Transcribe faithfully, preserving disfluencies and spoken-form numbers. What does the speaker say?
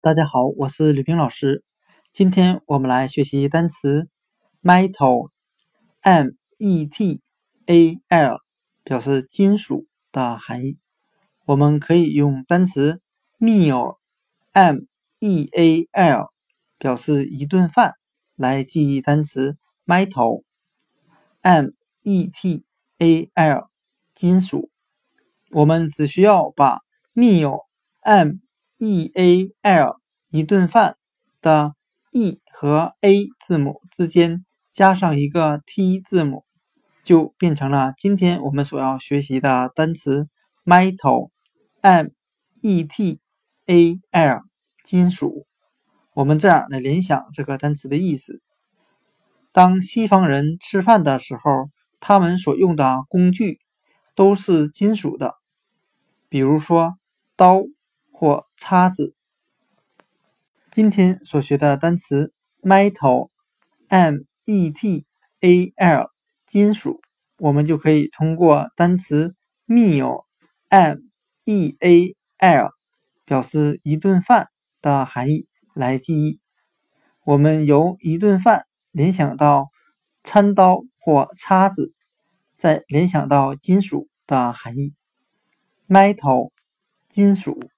大家好，我是吕冰老师。今天我们来学习单词 metal M E T A L 表示金属的含义。我们可以用单词 meal M E A L 表示一顿饭来记忆单词 metal M E T A L 金属。我们只需要把 meal M E A L 一顿饭的 E 和 A 字母之间加上一个 T 字母，就变成了今天我们所要学习的单词 metal M E T A L 金属。我们这样来联想这个单词的意思。当西方人吃饭的时候，他们所用的工具都是金属的，比如说刀或叉子。今天所学的单词 metal M E T A L 金属，我们就可以通过单词 meal M E A L 表示一顿饭的含义来记忆。我们由一顿饭联想到餐刀或叉子，再联想到金属的含义。metal 金属。